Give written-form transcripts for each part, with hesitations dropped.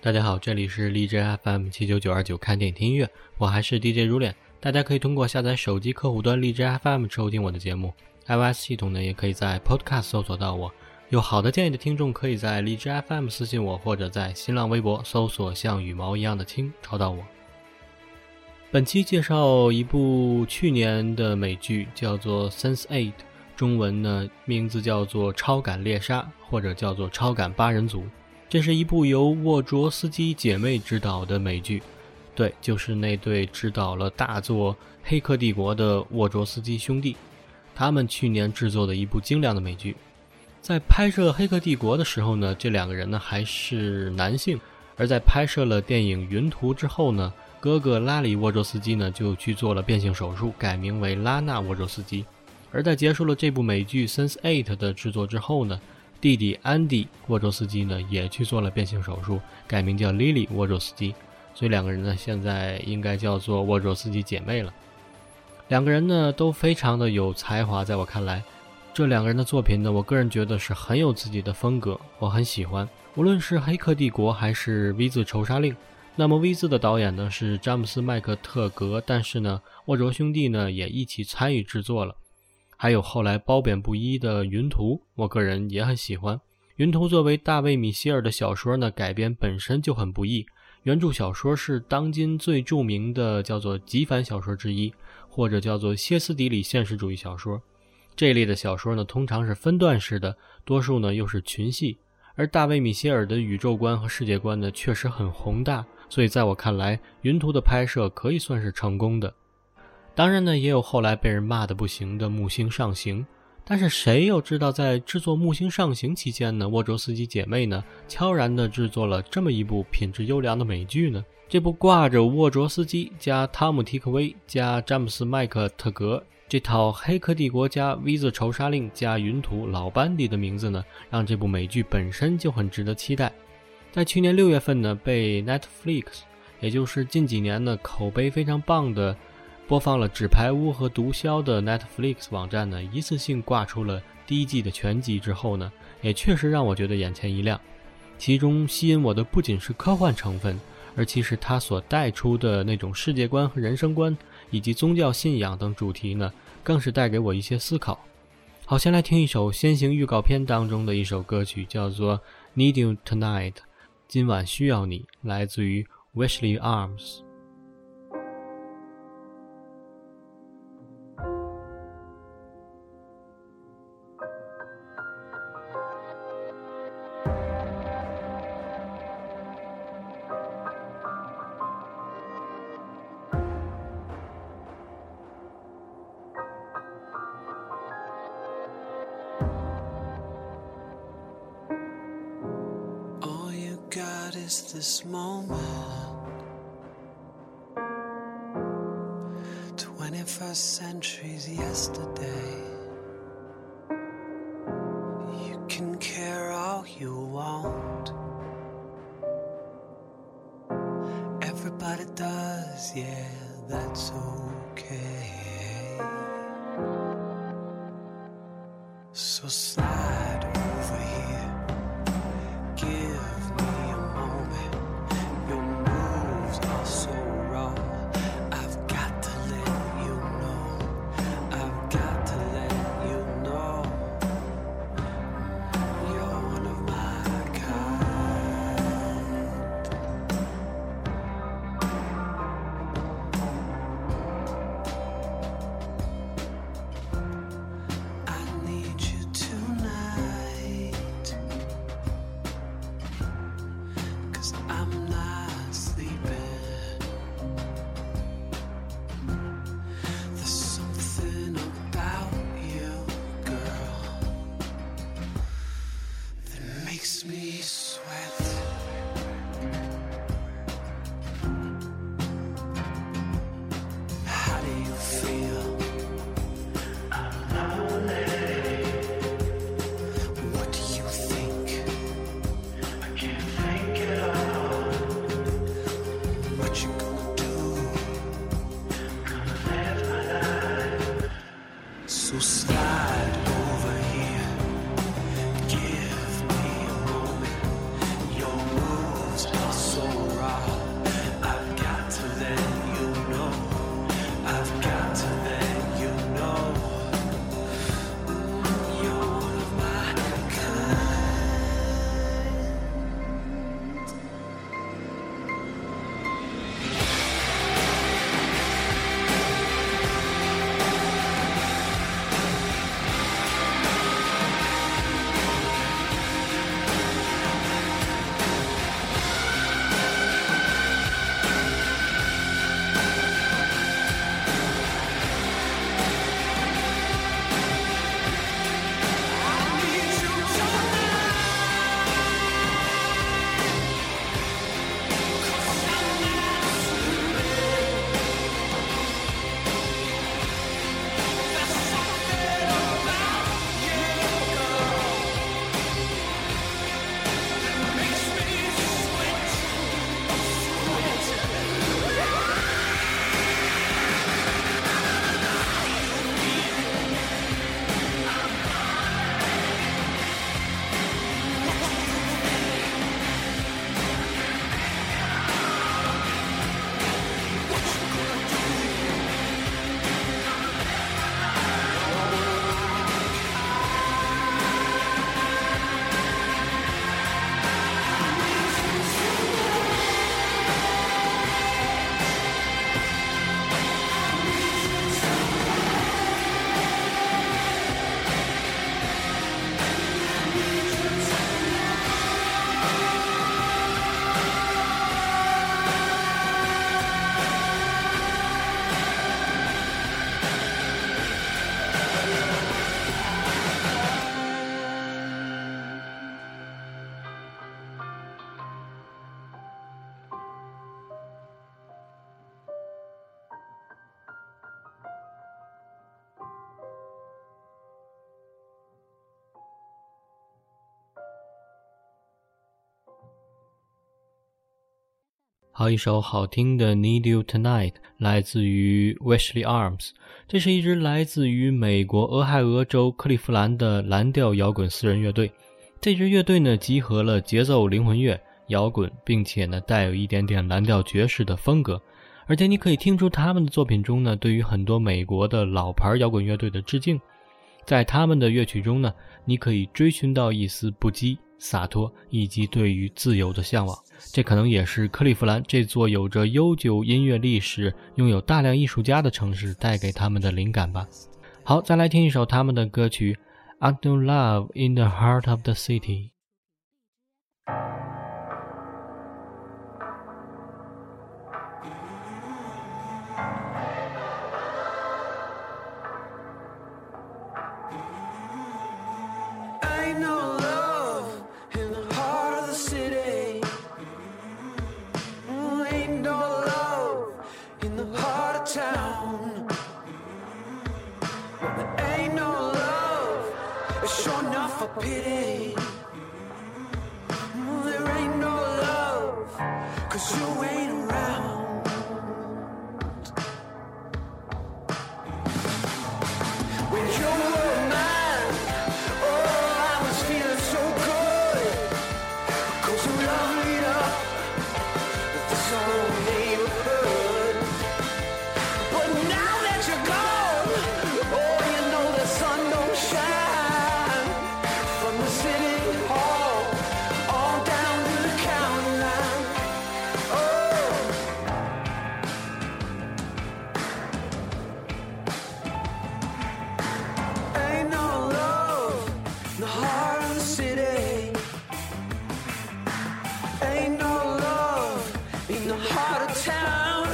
大家好，这里是荔枝 FM79929看电影听音乐，我还是 DJ 如脸。大家可以通过下载手机客户端荔枝 FM 收听我的节目， iOS 系统呢也可以在 Podcast 搜索到我。有好的建议的听众可以在荔枝 FM 私信我，或者在新浪微博搜索像羽毛一样的青找到我。本期介绍一部去年的美剧，叫做 Sense8， 中文呢名字叫做超感猎杀，或者叫做超感八人组。这是一部由沃卓斯基姐妹执导的美剧，对，就是那对执导了大作《黑客帝国》的沃卓斯基兄弟，他们去年制作的一部精良的美剧。在拍摄《黑客帝国》的时候呢，这两个人呢还是男性，而在拍摄了电影《云图》之后呢，哥哥拉里沃卓斯基呢就去做了变性手术，改名为拉纳沃卓斯基。而在结束了这部美剧 Sense8 的制作之后呢，弟弟安迪沃卓斯基呢也去做了变性手术，改名叫莉莉沃卓斯基，所以两个人呢现在应该叫做沃卓斯基姐妹了。两个人呢都非常的有才华，在我看来这两个人的作品呢，我个人觉得是很有自己的风格，我很喜欢。无论是黑客帝国还是 V 字仇杀令，那么 V 字的导演呢是詹姆斯麦克特格，但是呢沃卓兄弟呢也一起参与制作了。还有后来褒贬不一的云图，我个人也很喜欢。云图作为大卫米歇尔的小说呢，改编本身就很不易。原著小说是当今最著名的叫做极繁小说之一，或者叫做歇斯底里现实主义小说。这一类的小说呢，通常是分段式的，多数呢又是群戏。而大卫米歇尔的宇宙观和世界观呢，确实很宏大，所以在我看来，云图的拍摄可以算是成功的。当然呢，也有后来被人骂得不行的木星上行，但是谁又知道在制作木星上行期间呢，沃卓斯基姐妹呢悄然地制作了这么一部品质优良的美剧呢？这部挂着沃卓斯基加汤姆提克威加詹姆斯麦克特格这套黑客帝国加 V 字仇杀令加云图老班底的名字呢，让这部美剧本身就很值得期待。在去年6月份呢，被 Netflix， 也就是近几年呢口碑非常棒的播放了纸牌屋和毒枭的 Netflix 网站呢，一次性挂出了第一季的全集之后呢，也确实让我觉得眼前一亮。其中吸引我的不仅是科幻成分，而其实它所带出的那种世界观和人生观，以及宗教信仰等主题呢，更是带给我一些思考。好，先来听一首先行预告片当中的一首歌曲，叫做 Need You Tonight， 今晚需要你，来自于 Wishley Arms。Is this moment 21st century's yesterday. You can care all you want, everybody does, yeah, that's okay. So slide over here, give me a moment. Your moves are so raw, I've got to let you know, I've got to let you know, you're one of my kind. I need you tonight. raw. I've got to let you know. I've got to let you know. You're one of my kind. 好，一首好听的 Need You Tonight 来自于 Wesley Arms， 这是一支来自于美国俄亥俄州克利夫兰的蓝调摇滚私人乐队。这支乐队呢，集合了节奏灵魂乐、摇滚，并且呢带有一点点蓝调爵士的风格。而且你可以听出他们的作品中呢，对于很多美国的老牌摇滚乐队的致敬。在他们的乐曲中呢，你可以追寻到一丝不羁、洒脱以及对于自由的向往。这可能也是克利夫兰这座有着悠久音乐历史、拥有大量艺术家的城市带给他们的灵感吧。好，再来听一首他们的歌曲 Unknown Love in the Heart of the City。 Sure enough for pity. There ain't no love, 'cause you ain't around. When you were mine, oh, I was feeling so good, 'cause you loved me up with this whole neighborhood. But now that you're gone, oh, you know the sun don't shine from the city hall all down to the county line. Oh, ain't no love in the heart of the city. Ain't no love in the heart of town.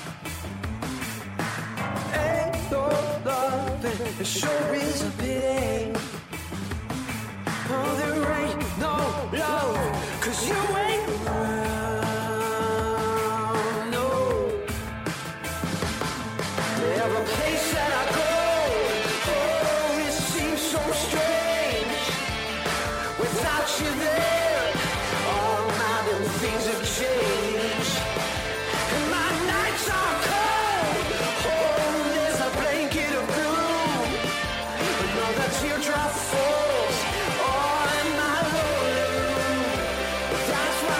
Ain't no love, and it sure is a pity. Oh, there ain't no love, 'cause you ain't around, no. Every place that I go, oh, it seems so strange. Without you there, all my little things have changed. And my nights are cold, oh, there's a blanket of gloom. Another teardrop falls. That's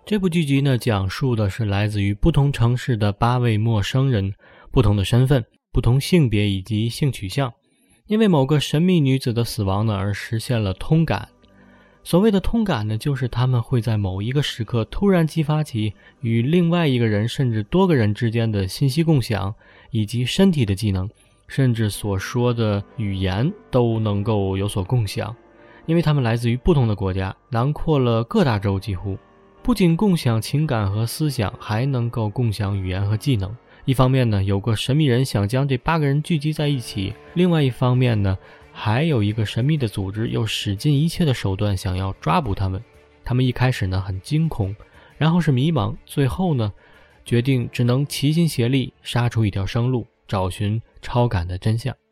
这部剧集呢，讲述的是来自于不同城市的8位陌生人，不同的身份、不同性别以及性取向，因为某个神秘女子的死亡呢而实现了通感。所谓的通感呢，就是他们会在某一个时刻突然激发起与另外一个人甚至多个人之间的信息共享，以及身体的技能，甚至所说的语言都能够有所共享。因为他们来自于不同的国家，囊括了各大洲，几乎不仅共享情感和思想，还能够共享语言和技能。一方面呢，有个神秘人想将这8个人聚集在一起，另外一方面呢，还有一个神秘的组织又使尽一切的手段想要抓捕他们。他们一开始呢很惊恐，然后是迷茫，最后呢决定只能齐心协力杀出一条生路，找寻超感的真相。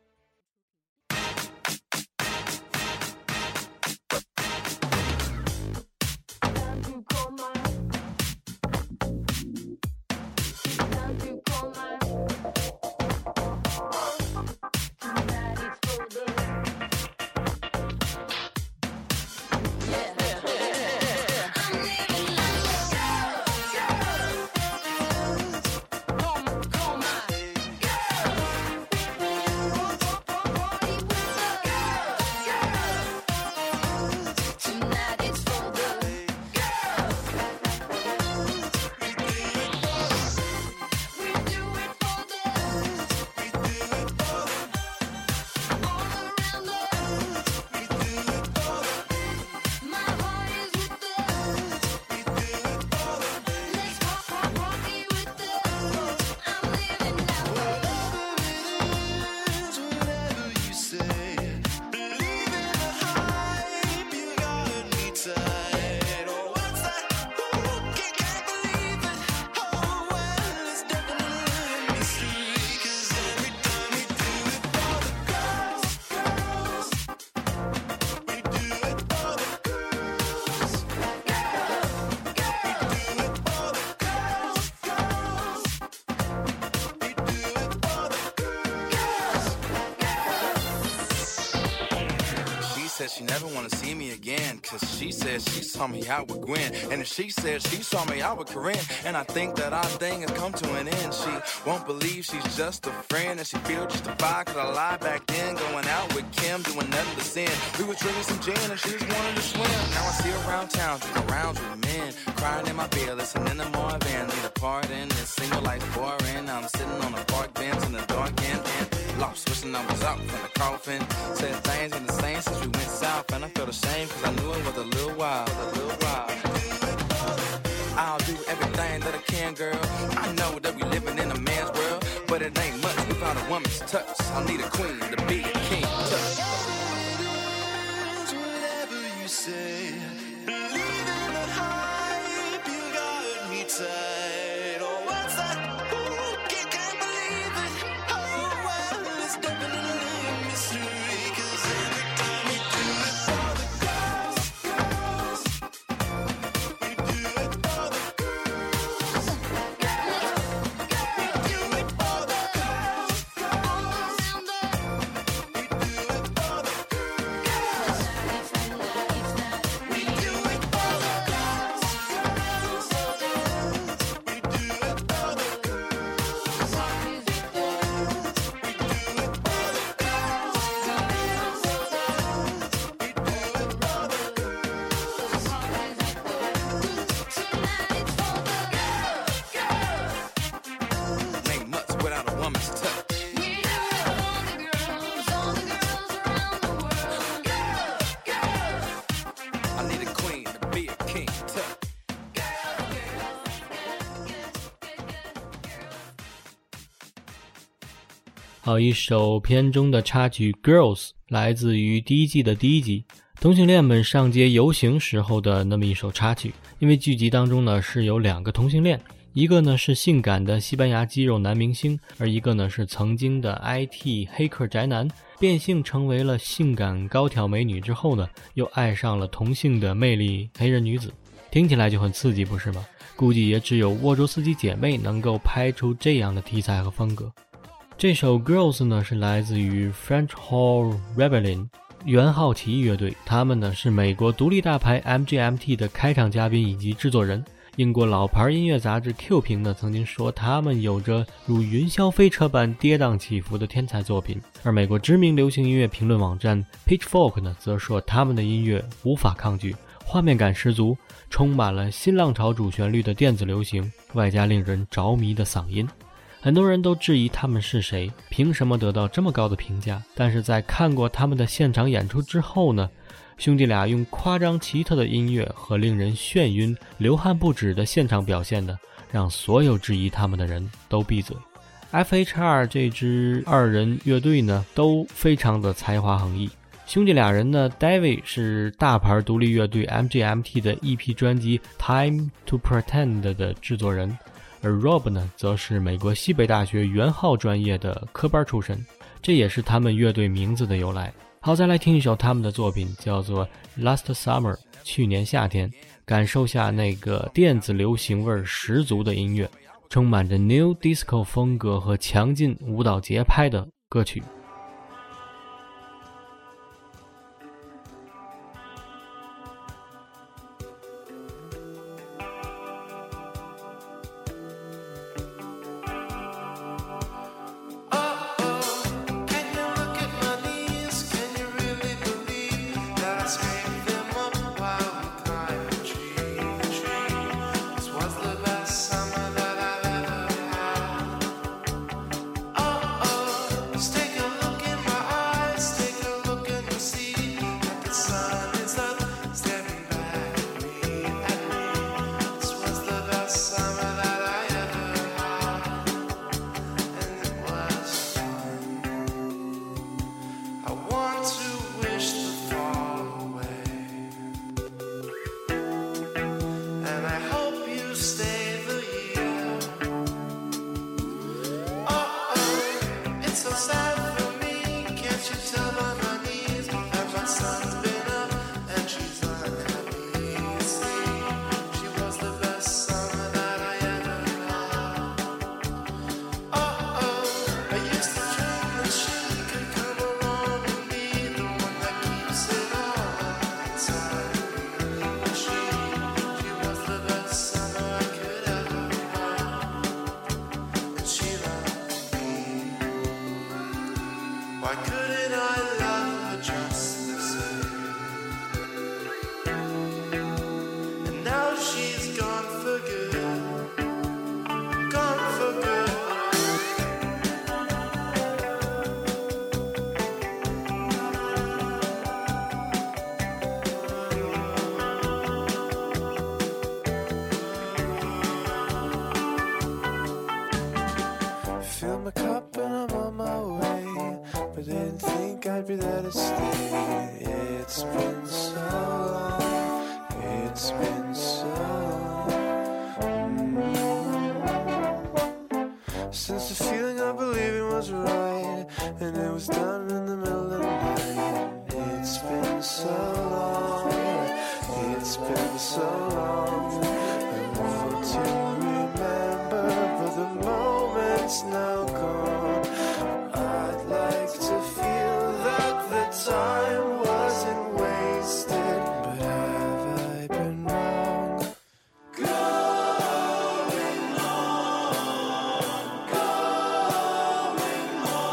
She never wanna see me again, cause she said she saw me out with Gwen, and if she said she saw me out with Corinne, and I think that our thing has come to an end. She won't believe she's just a friend, and she feels justified cause I lied back then, going out with Kim, doing nothing but sin. We were drinking some gin and she just wanted to swim. Now I see her around town, drinking rounds with men, crying in my bed, listening to more Van. Need a part in this single life boring. I'm sitting on a park bench in the dark and lost, wishing I was out from the coffin. Said things ain't the same since we went south, and I felt ashamed cause I knew it was a little while. I'll do everything that I can, girl. I know that we living in a man's world, but it ain't much without a woman's touch. I need a queen to be a king. Touch. Whatever you say, believe in the hype, you got me tight. Oh, what's that? Ooh, can't believe it. Oh, well, it's definitely a mystery, cause every time we do it for the girls, we do it for the girls. We do it for the girls, we do it for the girls. We do it for the girls, we do it for the ain't much without a woman's touch. I need a queen to be a king. Touch. 好，一首片中的插曲 Girls 来自于第一季的第1集，同性恋们上街游行时候的那么一首插曲。因为剧集当中呢是有2个同性恋，一个呢是性感的西班牙肌肉男明星，而一个呢是曾经的 IT 黑客宅男，变性成为了性感高挑美女之后呢，又爱上了同性的魅力黑人女子。听起来就很刺激，不是吗？估计也只有沃卓斯基姐妹能够拍出这样的题材和风格。这首 Girls 呢是来自于 French Horn Rebellion 元号起义乐队，他们呢是美国独立大牌 MGMT 的开场嘉宾以及制作人， 英国老牌音乐杂志 Q 评呢曾经说他们有着如云霄飞车般跌宕起伏的天才作品，而美国知名流行音乐评论网站 Pitchfork 呢则说他们的音乐无法抗拒，画面感十足，充满了新浪潮主旋律的电子流行，外加令人着迷的嗓音。很多人都质疑他们是谁，凭什么得到这么高的评价，但是在看过他们的现场演出之后呢，兄弟俩用夸张奇特的音乐和令人眩晕流汗不止的现场表现呢，让所有质疑他们的人都闭嘴。 FHR 这支二人乐队呢都非常的才华横溢，兄弟俩人呢 David 是大牌独立乐队 MGMT 的 EP 专辑 Time to Pretend 的制作人，而 Rob 呢则是美国西北大学元号专业的科班出身，这也是他们乐队名字的由来。好，再来听一首他们的作品，叫做 Last Summer 去年夏天，感受下那个电子流行味十足的音乐，充满着 New Disco 风格和强劲舞蹈节拍的歌曲。 Why couldn't I love her just the same? And now she's gone for good, gone for good. Fill my cup and I'm on my way, but didn't think I'd be there to stay. It's been so long, it's been so long. Since the feeling of believing was right, and it was done in the middle of the night. It's been so long, it's been so long. I want to remember, but the moment's now gone. I'd like to feel that the time wasn't wasted, but have I been wrong? Going on, going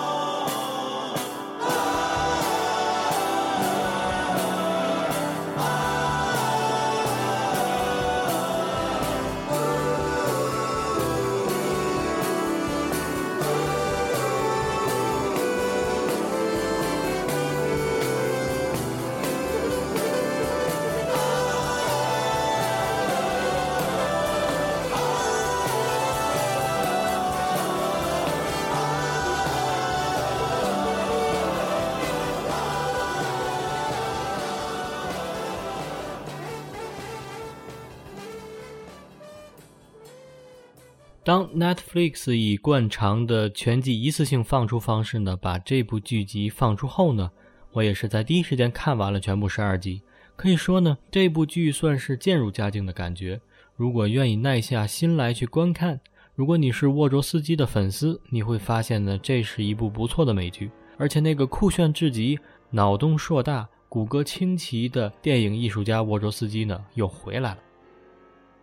当 Netflix 以惯常的全季一次性放出方式呢，把这部剧集放出后呢，我也是在第一时间看完了全部12集。可以说呢，这部剧算是渐入佳境的感觉。如果愿意耐下心来去观看，如果你是沃卓斯基的粉丝，你会发现呢，这是一部不错的美剧。而且那个酷炫至极、脑洞硕大、骨骼清奇的电影艺术家沃卓斯基呢，又回来了。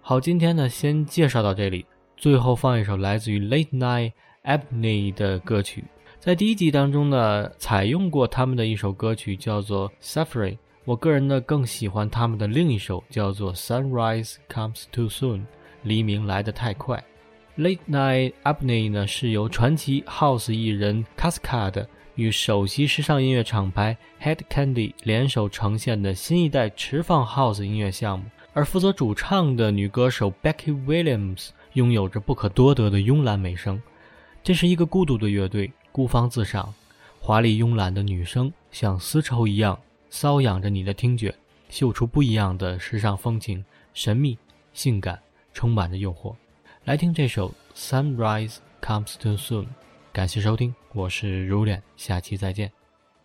好，今天呢先介绍到这里，最后放一首来自于 Late Night Ebony 的歌曲。在第一集当中呢，采用过他们的一首歌曲叫做 Suffering， 我个人呢更喜欢他们的另一首叫做 Sunrise Comes Too Soon， 黎明来得太快。Late Night Ebony 呢是由传奇 House 艺人 Cascade 与首席时尚音乐厂牌 Head Candy 联手呈现的新一代持放 House 音乐项目，而负责主唱的女歌手 Becky Williams 拥有着不可多得的慵懒美声。这是一个孤独的乐队，孤芳自赏，华丽慵懒的女声像丝绸一样搔痒着你的听觉，秀出不一样的时尚风情，神秘、性感，充满着诱惑。来听这首 Sunrise Comes Too Soon， 感谢收听，我是如脸，下期再见。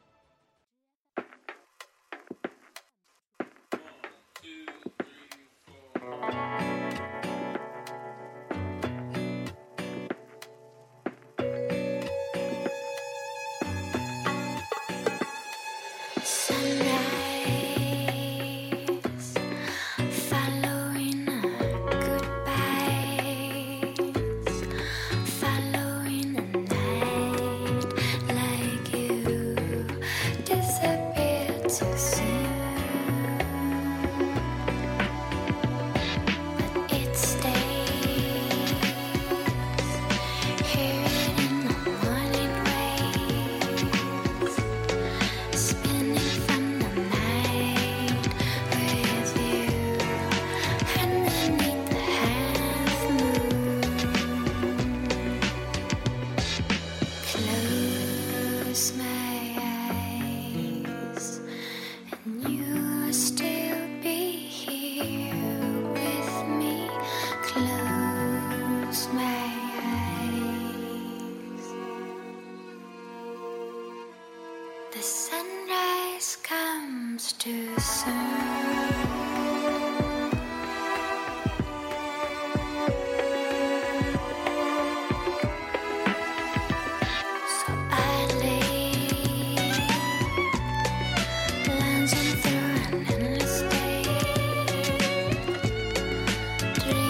The sunrise comes too soon. So I lay, glancing through an endless day,